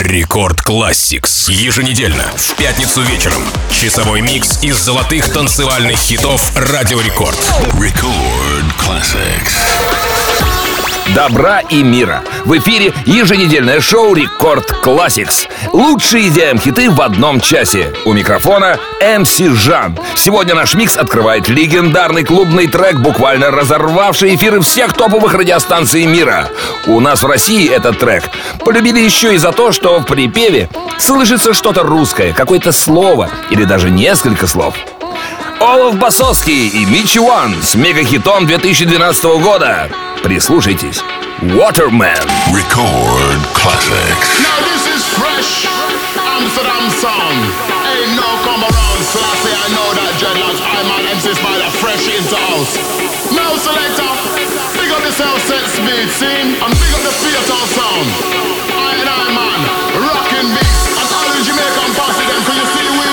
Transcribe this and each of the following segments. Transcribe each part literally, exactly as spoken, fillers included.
Рекорд Classics. Еженедельно, в пятницу вечером. Часовой микс из золотых танцевальных хитов Радио Рекорд. Record Classics. Добра и мира. В эфире еженедельное шоу Рекорд Classics. Лучшие ди эм-хиты в одном часе. У микрофона эм си Жан. Сегодня наш микс открывает легендарный клубный трек, буквально разорвавший эфиры всех топовых радиостанций мира. У нас в России этот трек полюбили еще и за то, что в припеве слышится что-то русское, какое-то слово или даже несколько слов. Олаф Басовский и Мичи Уан с мегахитом две тысячи двенадцатого года. Прислушайтесь. Waterman. Record Classics. Now this is fresh Amsterdam sound. Ain't no come around, so I say I know that dreadlocks. I'm an M C Spider, fresh into house. Now selector, big up yourself, set speed, scene, and big up the theater sound. I and I man, rockin' beats, and all the Jamaican posse them, can you see we?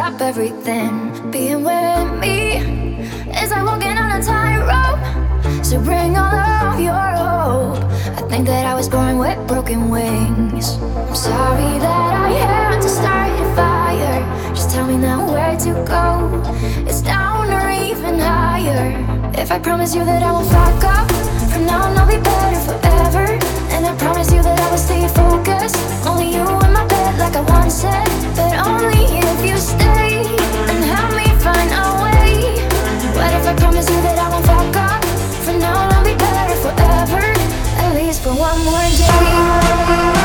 stop everything. Being with me is like walking on a tightrope. So bring all of your hope. I think that I was born with broken wings. I'm sorry that I had to start a fire. Just tell me now where to go. It's down or even higher. If I promise you that I won't fuck up, from now on I'll be better forever. And I promise you that I will stay focused. Only you in my bed like I once said. But only if you stay and help me find a way. What if I promise you that I won't fuck up? From now on I'll be better forever. At least for one more day.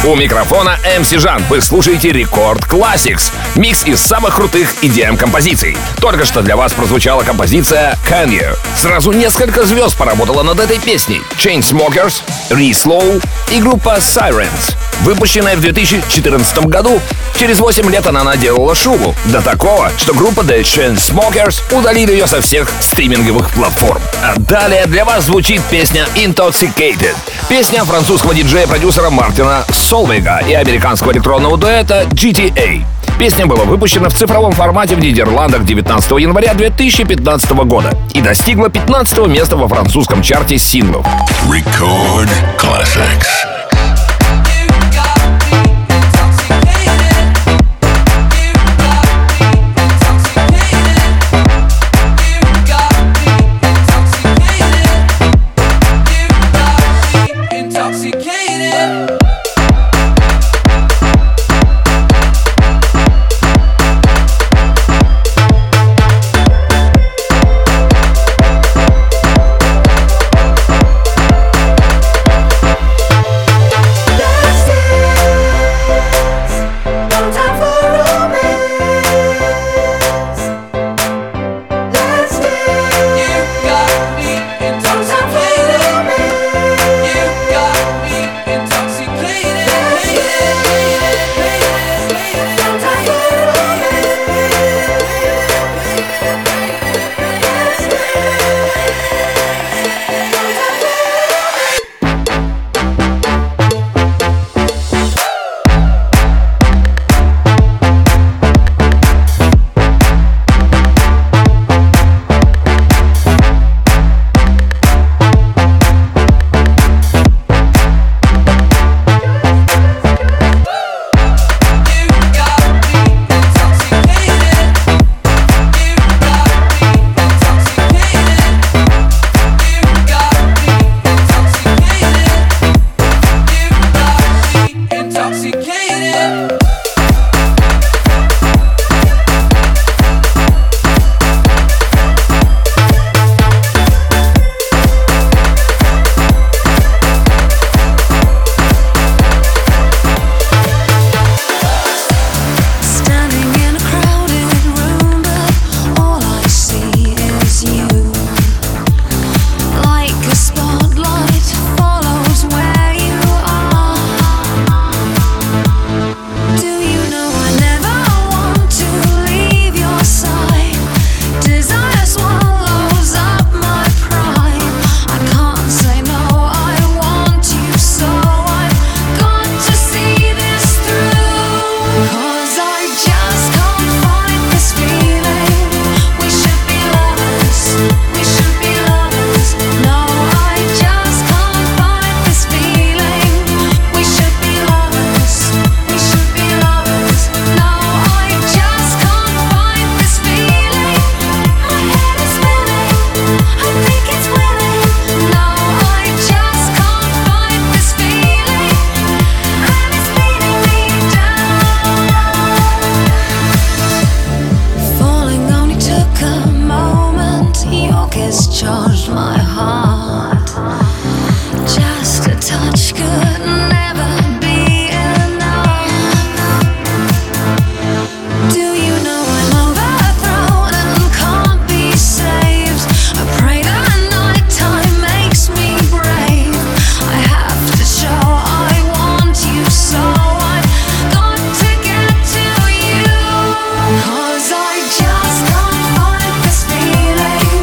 У микрофона эм си Жан. Вы слушаете Рекорд Classics. Микс из самых крутых и ди эм-композиций. Только что для вас прозвучала композиция Can You. Сразу несколько звезд поработала над этой песней. Chainsmokers, Re-Slow и группа Sirens. Выпущенная в две тысячи четырнадцатом году, через восемь лет она наделала шуму. До такого, что группа The Chainsmokers удалили ее со всех стриминговых платформ. А далее для вас звучит песня Intoxicated. Песня французского диджея-продюсера Мартина Солвейга и американского электронного дуэта джи ти эй. Песня была выпущена в цифровом формате в Нидерландах девятнадцатого января две тысячи пятнадцатого года и достигла пятнадцатого места во французском чарте синглов. Record Classics.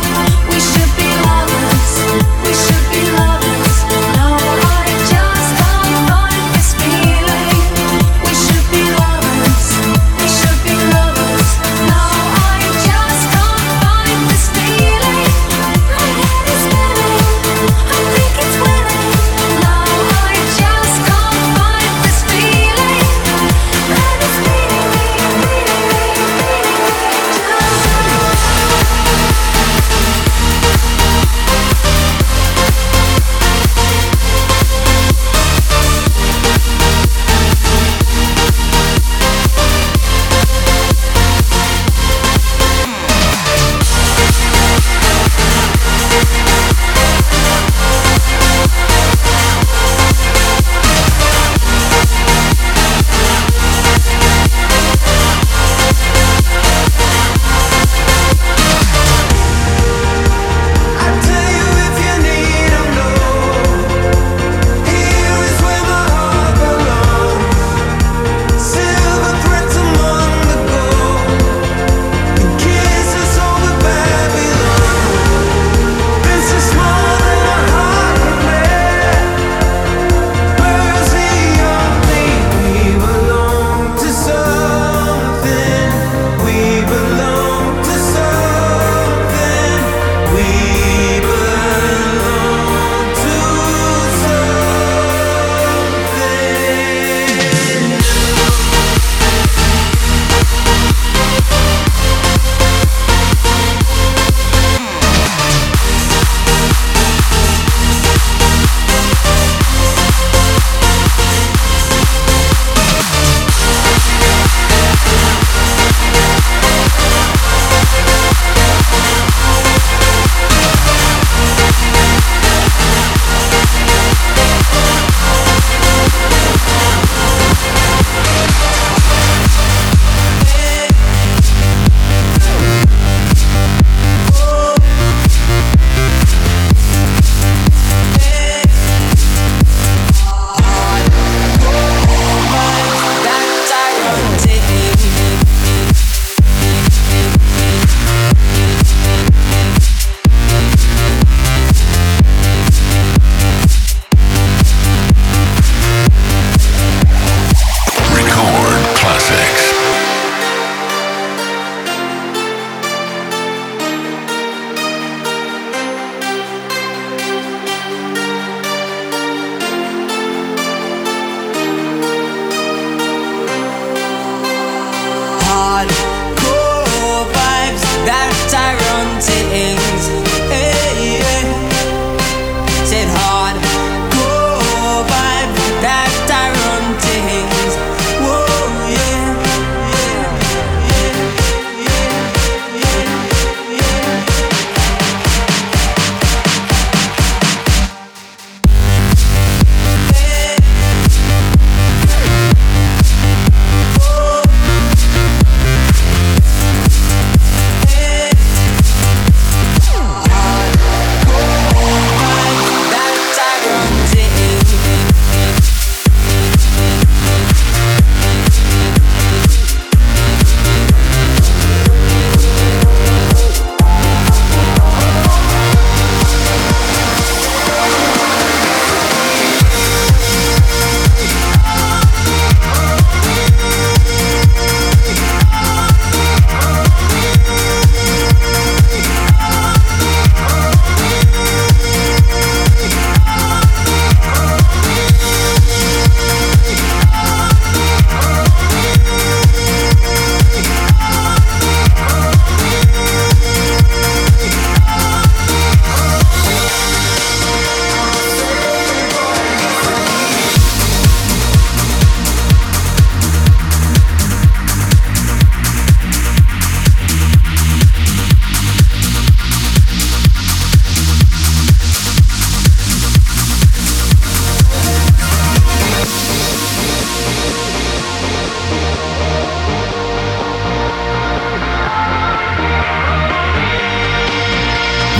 Just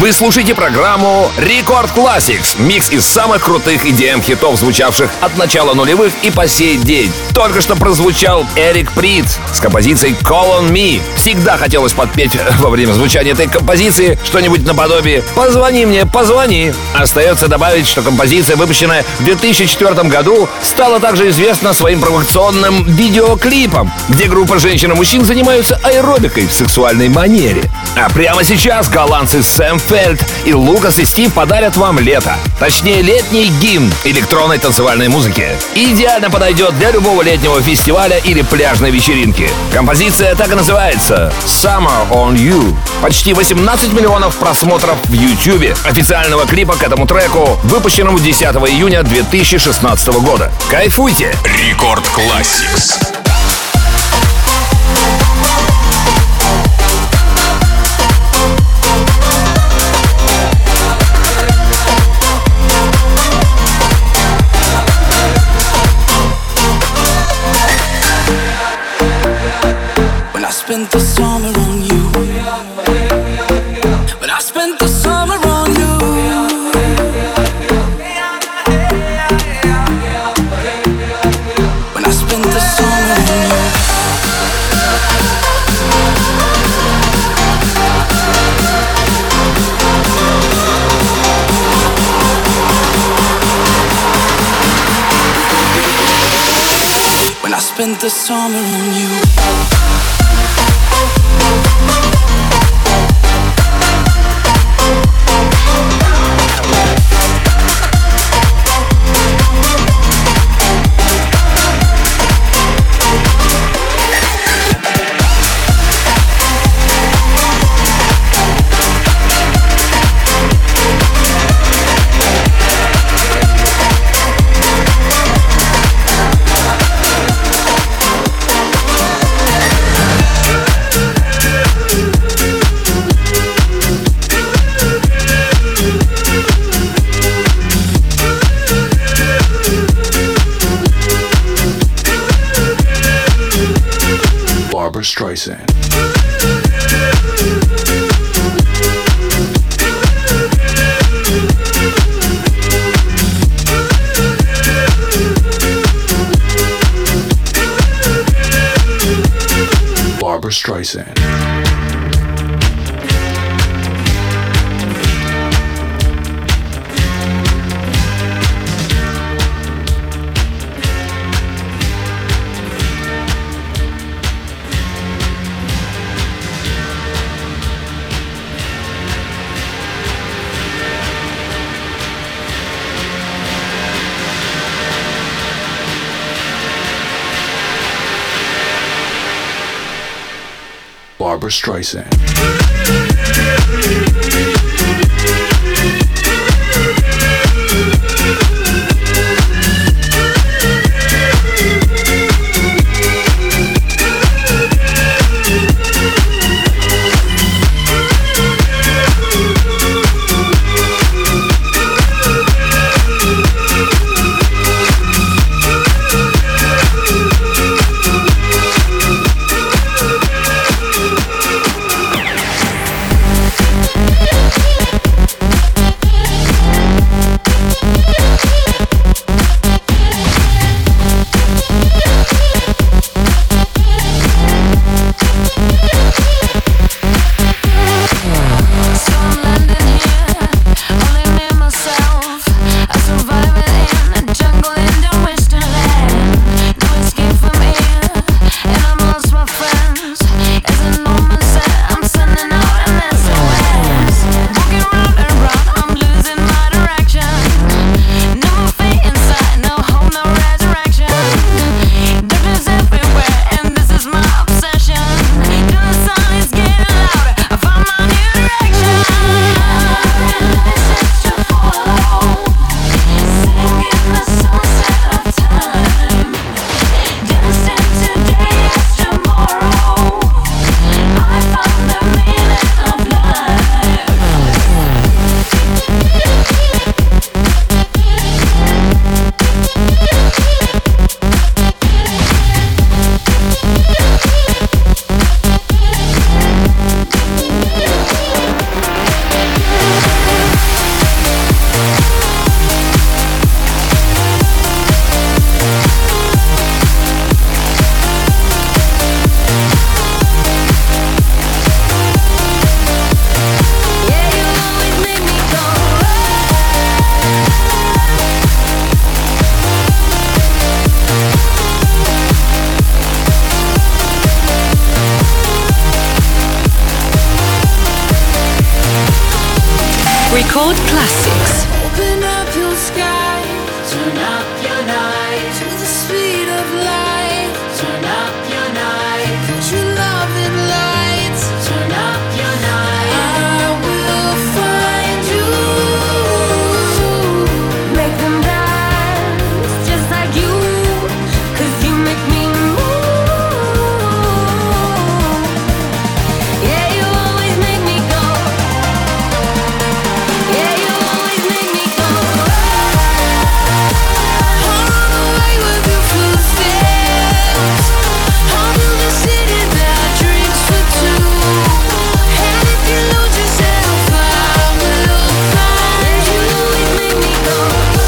Вы слушаете программу Рекорд Classics. Микс из самых крутых и ди эм-хитов, звучавших от начала нулевых и по сей день. Только что прозвучал Эрик Прит с композицией Call on Me. Всегда хотелось подпеть во время звучания этой композиции что-нибудь наподобие «Позвони мне, позвони». Остается добавить, что композиция, выпущенная в две тысячи четвёртом году, стала также известна своим провокационным видеоклипом, где группа женщин и мужчин занимаются аэробикой в сексуальной манере. А прямо сейчас голландцы Сэм Фельд и Лукас и Стив подарят вам лето. Точнее, летний гимн электронной танцевальной музыки. Идеально подойдет для любого летнего фестиваля или пляжной вечеринки. Композиция так и называется «Summer on You». Почти восемнадцать миллионов просмотров в YouTube официального клипа к этому треку, выпущенному десятого июня две тысячи шестнадцатого года. Кайфуйте! Рекорд Classics. Spent the summer on you. But I spent the summer on you. When I spent the summer on you. When I spent the summer on you. Barbra Streisand. Barbra Streisand. Barbra Streisand. Record Classics. Open up your sky, turn up your night to the speed of light. Turn up your night, put your love in lights. Turn up your night, I will find you. Make them dance just like you, 'cause you make me move. Yeah, you always make me go. Yeah, you always make me go. I'll run away with your footsteps. I'll build a city that dreams for two. And if you lose yourself, I will find you. You always make me go.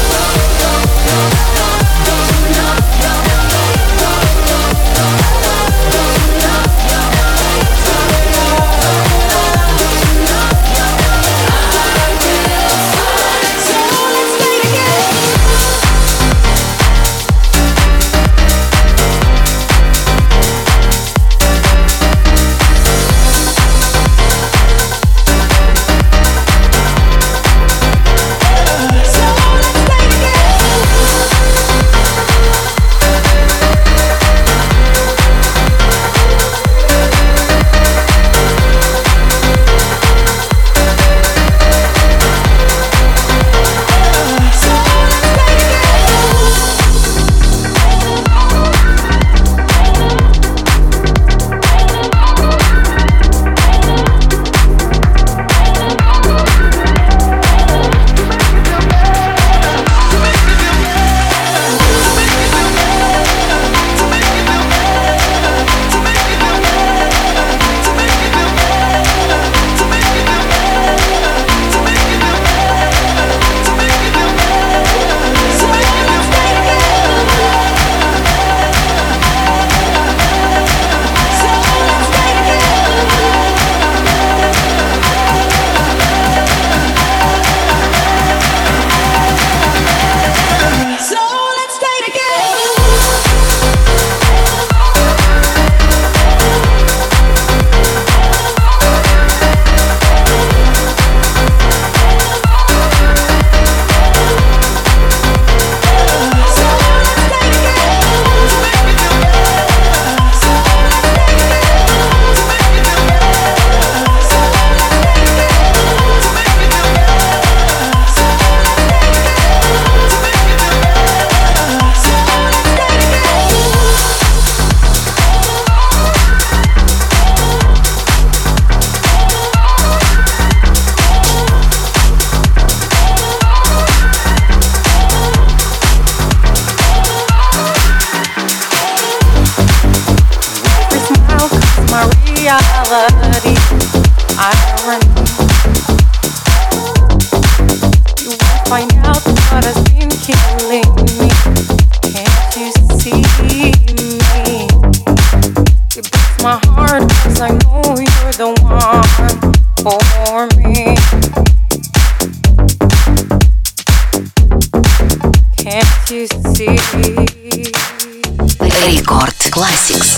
Record Classics.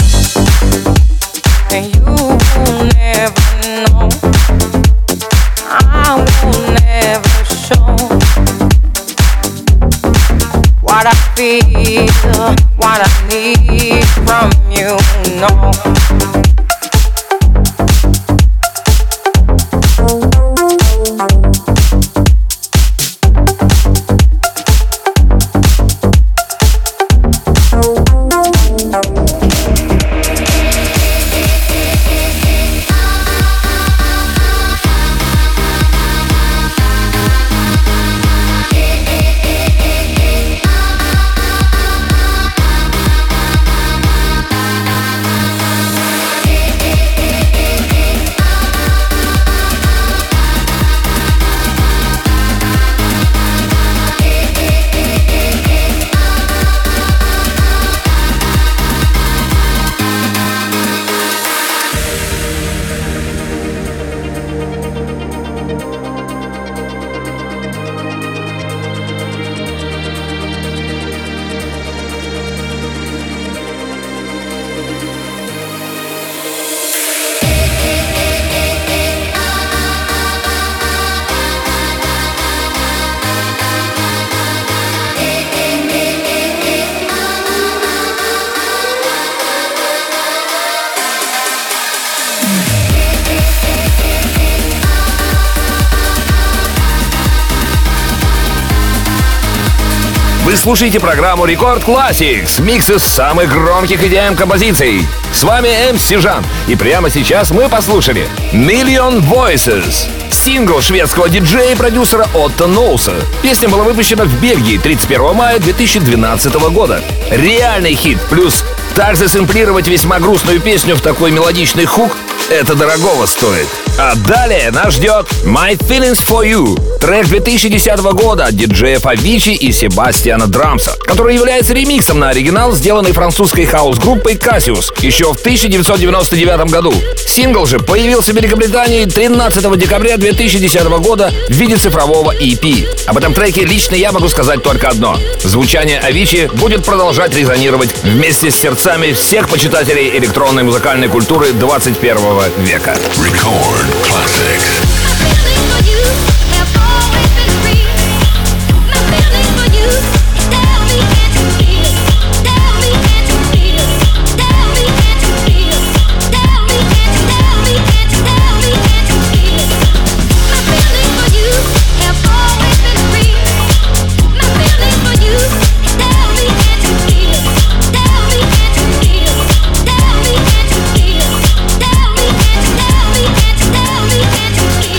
And you will never know, I will never show what I feel, what I need from you, no. Вы слушаете программу Рекорд Classics, микс из самых громких и ди эм-композиций. С вами эм си Жан, и прямо сейчас мы послушали Million Voices, сингл шведского диджея и продюсера Отто Ноуса. Песня была выпущена в Бельгии тридцать первого мая две тысячи двенадцатого года. Реальный хит, плюс так засэмплировать весьма грустную песню в такой мелодичный хук — это дорогого стоит. А далее нас ждет My Feelings For You, трек две тысячи десятого года от диджеев Avicii и Себастьяна Драмса, который является ремиксом на оригинал, сделанный французской хаус-группой Cassius еще в тысяча девятьсот девяносто девятом году. Сингл же появился в Великобритании тринадцатого декабря две тысячи десятого года в виде цифрового и пи. Об этом треке лично я могу сказать только одно: звучание Avicii будет продолжать резонировать вместе с сердцами всех почитателей электронной музыкальной культуры двадцать первого века. Record Classics. Can't you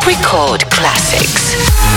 Record Classics.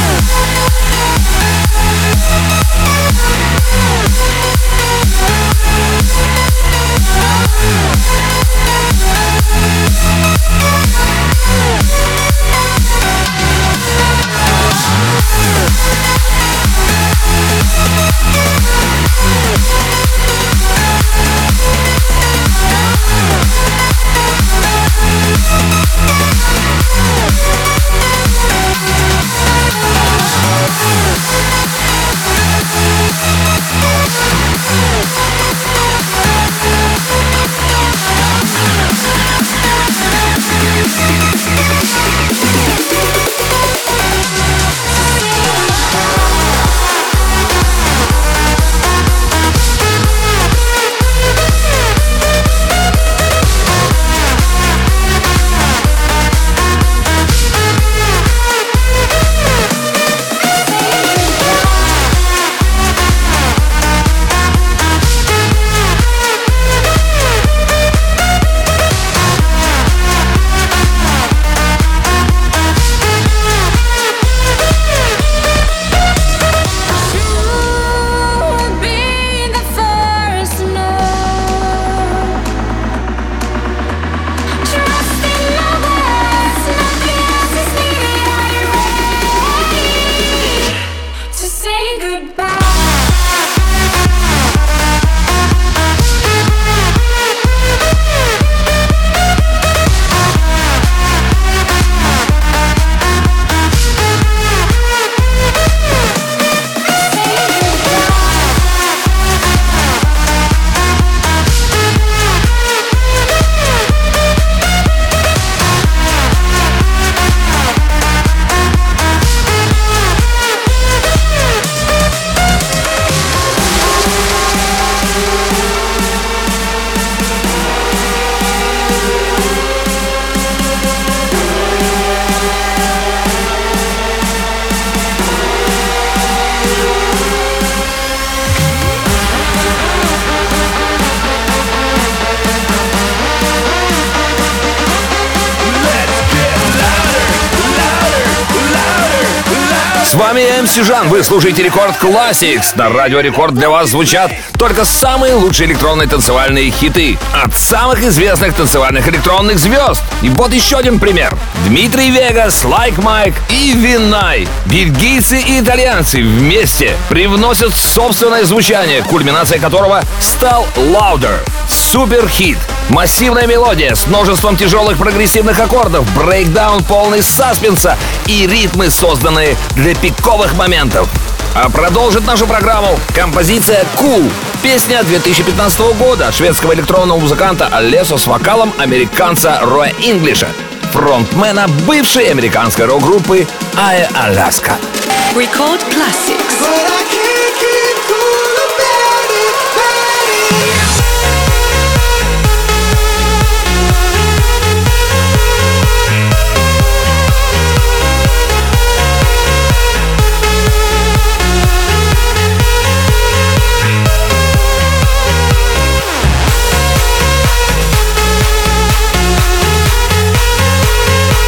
С вами эм си Жан, вы слушаете Рекорд Classics. На Радио Рекорд для вас звучат только самые лучшие электронные танцевальные хиты от самых известных танцевальных электронных звезд. И вот еще один пример. Дмитрий Вегас, Like Mike и Винай. Бельгийцы и итальянцы вместе привносят собственное звучание, кульминацией которого стал Louder. Суперхит. Массивная мелодия с множеством тяжелых прогрессивных аккордов, брейкдаун полный саспенса и ритмы, созданные для пиковых моментов. А продолжит нашу программу композиция «Cool». Песня две тысячи пятнадцатого года от шведского электронного музыканта Алессо с вокалом американца Роя Инглиша, фронтмена бывшей американской рок-группы Ая Аляска. Record Classics.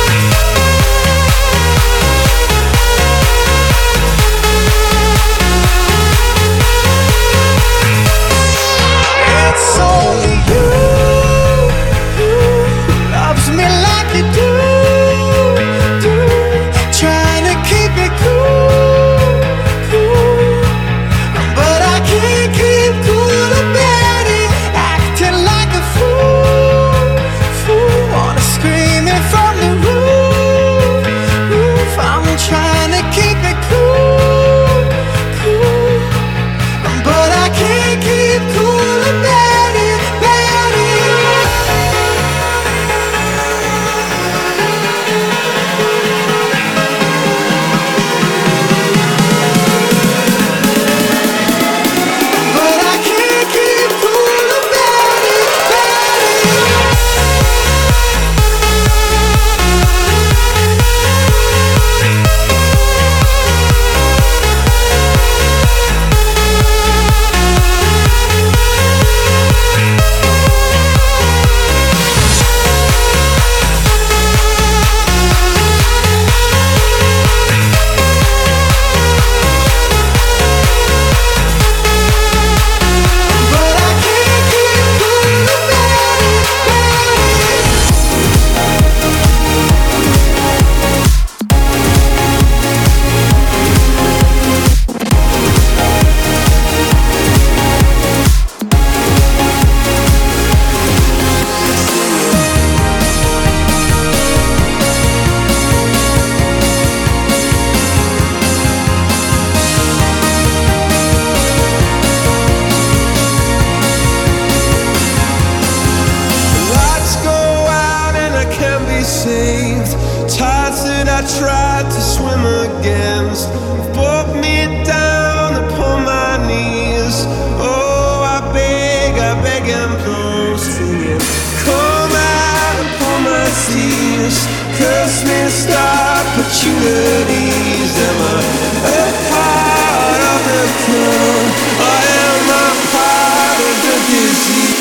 We'll be right back. tide to swim against brought me down upon my knees. Oh, I beg, I beg and plead, singing, come out upon my seas, curse me, star opportunities. Am I a part of the crew, or am I part of the disease?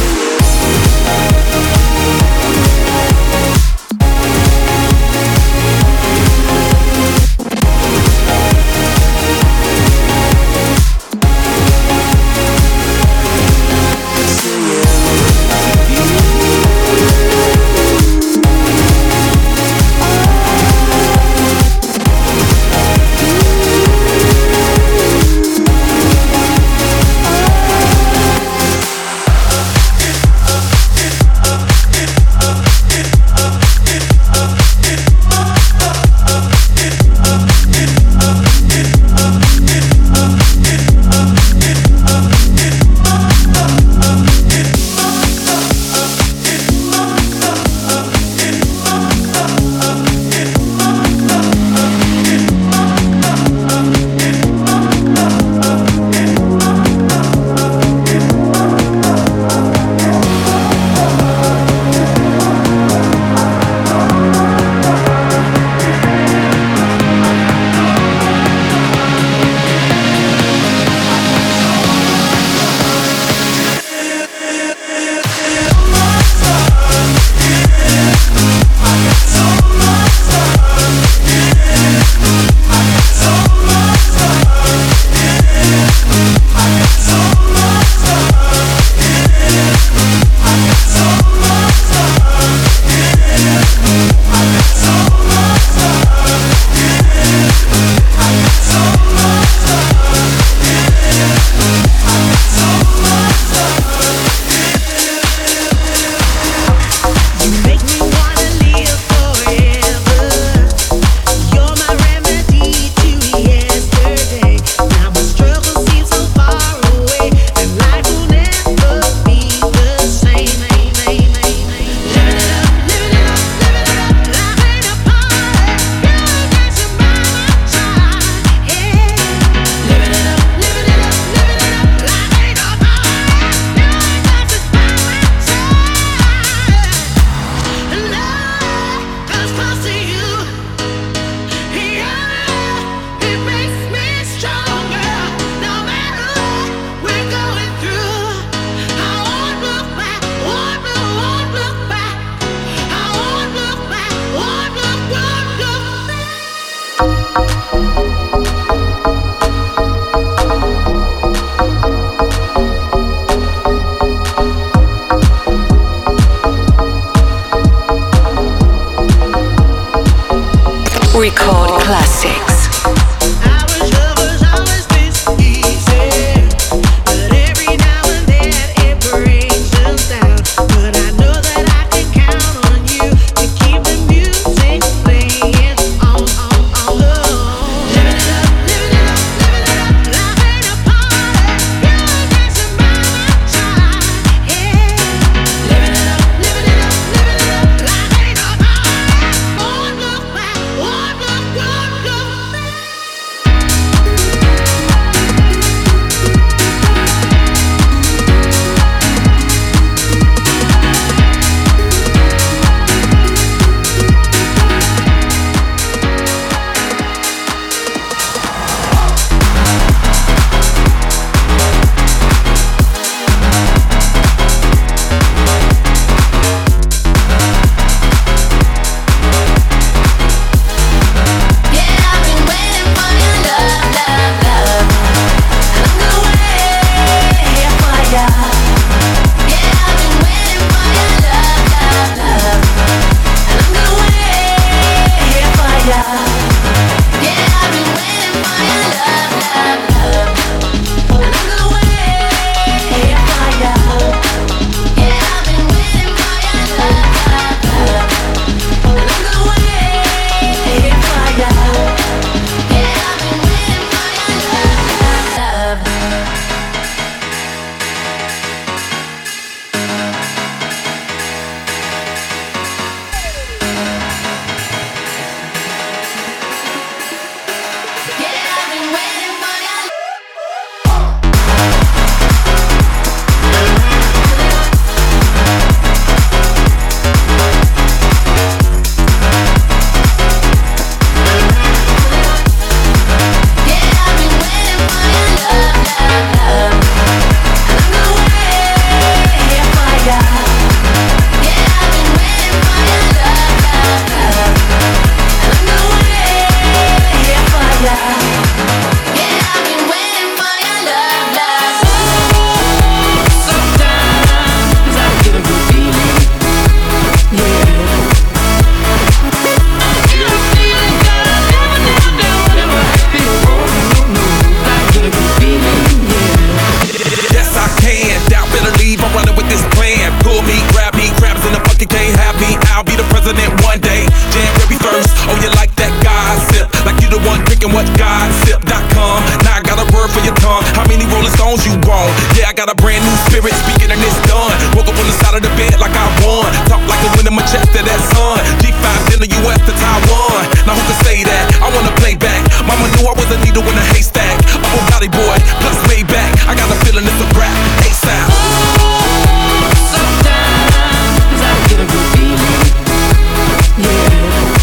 Record Classics. Look back, got a brand new spirit speaking and it's done. Woke up on the side of the bed like I won. Talk like the wind in my chest to that sun. G five in the U S to Taiwan. Now who can say that? I wanna play back. Mama knew I was a needle in a haystack. A Bugatti boy, plus way back. I got a feeling it's a rap. ASAP. Sometimes I get a good feeling. Yeah.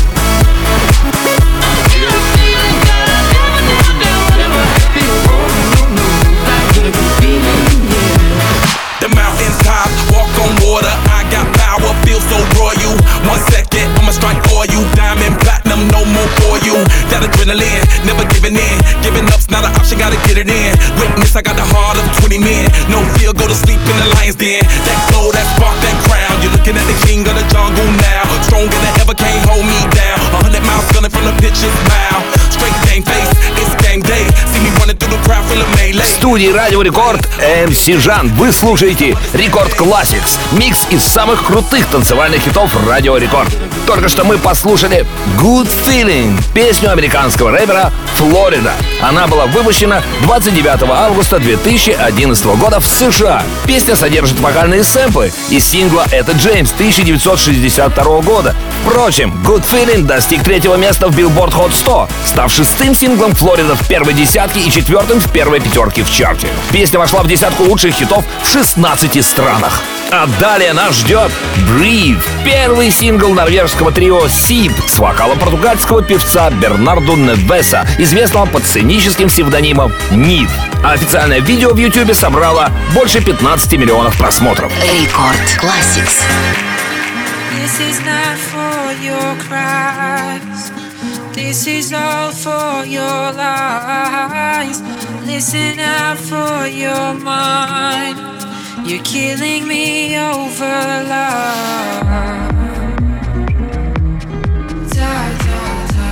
The mountains top, walk on water. I got power, feel so royal. One second, I'ma strike for you. Diamond, platinum, no more for you. That adrenaline, never giving in. Giving up's not an option, gotta get it in. Witness, I got the heart of twenty men. No fear, go to sleep in the lion's den. That glow, that spark, that crown. You're looking at the king of the jungle now. Stronger than ever, can't hold me down. A hundred miles gunning from the pitcher's mouth. Straight game face, it's game day. See me running through the crowd, full of melee. В студии Радио Рекорд эм си Жан. Вы слушаете Рекорд Classics. Микс из самых крутых танцевальных хитов Радио Рекорд. Только что мы послушали Good Feeling, песню американского рэпера Флорида. Она была выпущена двадцать девятого августа две тысячи одиннадцатого года в США. Песня содержит вокальные сэмплы из сингла «Это Джеймс» тысяча девятьсот шестьдесят второго года. Впрочем, Good Feeling достиг третьего места в Billboard Hot сто, став шестым синглом Флорида в первой десятке и четвертым в первой пятерке в чарте. Песня вошла в десятку лучших хитов в шестнадцати странах. А далее нас ждет Breathe, первый сингл норвежского трио Сиб с вокалом португальского певца Бернарду Невеса, известного под сценическим псевдонимом Нид. А официальное видео в Ютубе собрало больше пятнадцати миллионов просмотров. Рекорд Classics. This is not for your cries. This is all for your lies. Listen out for your mind. You're killing me over love. Da, da, da.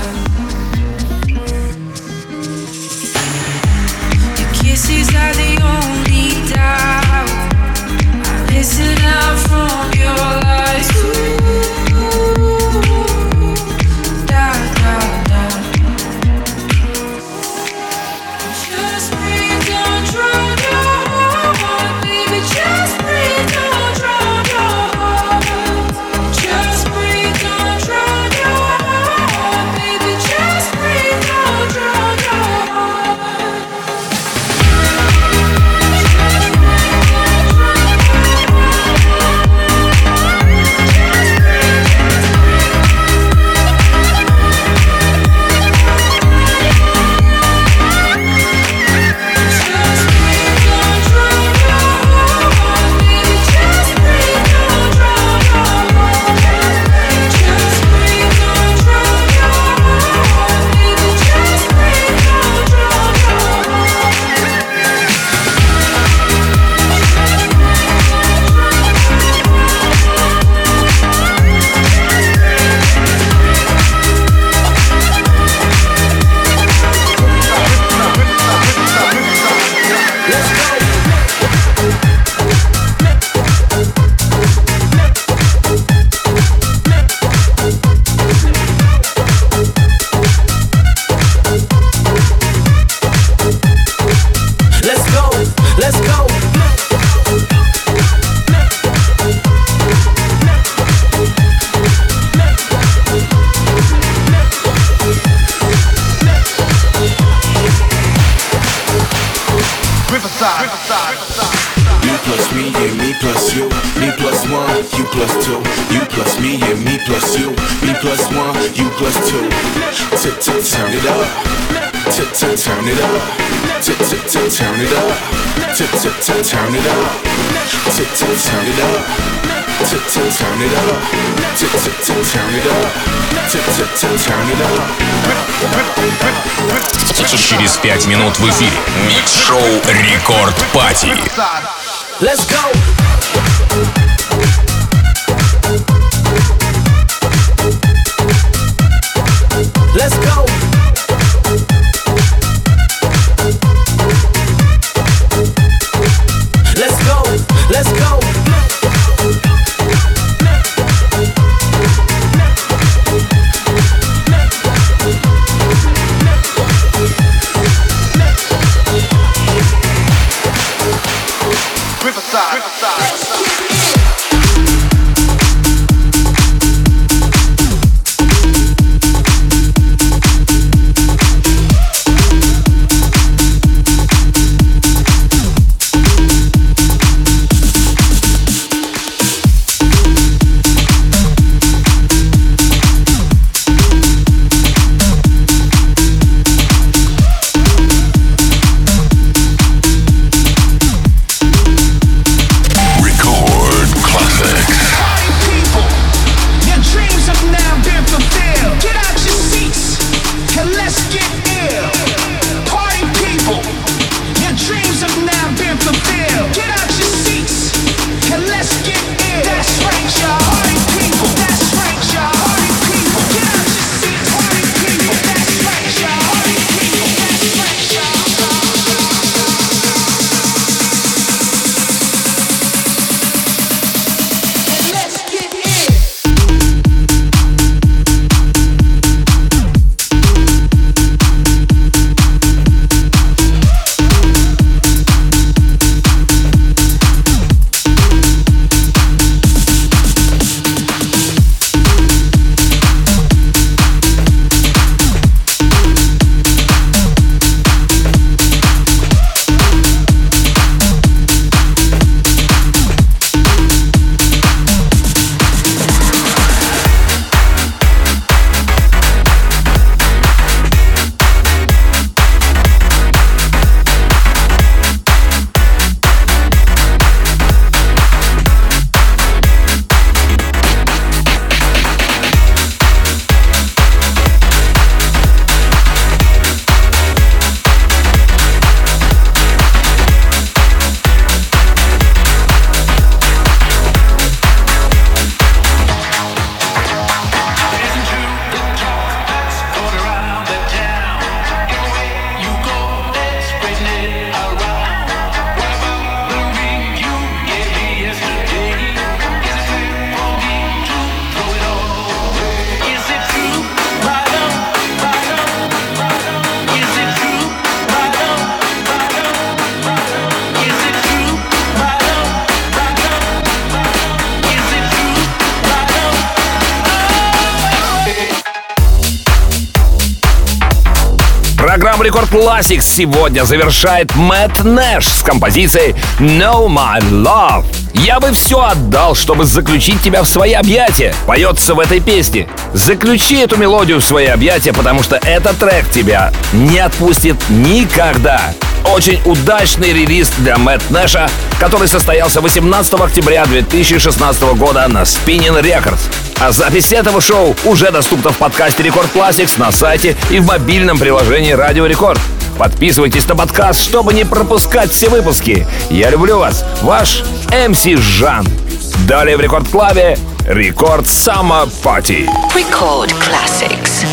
Your kisses are the only doubt. I listen out from your lies too. Da, da, da. Just breathe, don't drown your heart, baby. Just breathe, don't drown your heart. Just breathe, don't drown your heart, baby. Just breathe, don't drown your heart. You plus me and me plus you. Me plus one, you plus two. You plus me and me plus you. Me plus one, you plus two. Turn it up. Turn it up. Turn it up. Turn it up. Turn it up. Turn it up. Turn it up. Через пять минут в эфире микс-шоу Рекорд Пати. Let's go. Let's go. Let's go. Let's go. Программу Рекорд Classics сегодня завершает Мэтт Нэш с композицией «Know My Love». «Я бы все отдал, чтобы заключить тебя в свои объятия», поется в этой песне. Заключи эту мелодию в свои объятия, потому что этот трек тебя не отпустит никогда. Очень удачный релиз для Мэтт Нэша, который состоялся восемнадцатого октября две тысячи шестнадцатого года на Spinnin' Records. А запись этого шоу уже доступна в подкасте Рекорд Classics на сайте и в мобильном приложении Радио Рекорд. Подписывайтесь на подкаст, чтобы не пропускать все выпуски. Я люблю вас, ваш эм си Жан. Далее в Рекорд Клабе Рекорд Summer Party. Record Classics.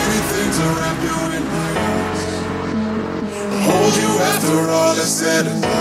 After all is said and done,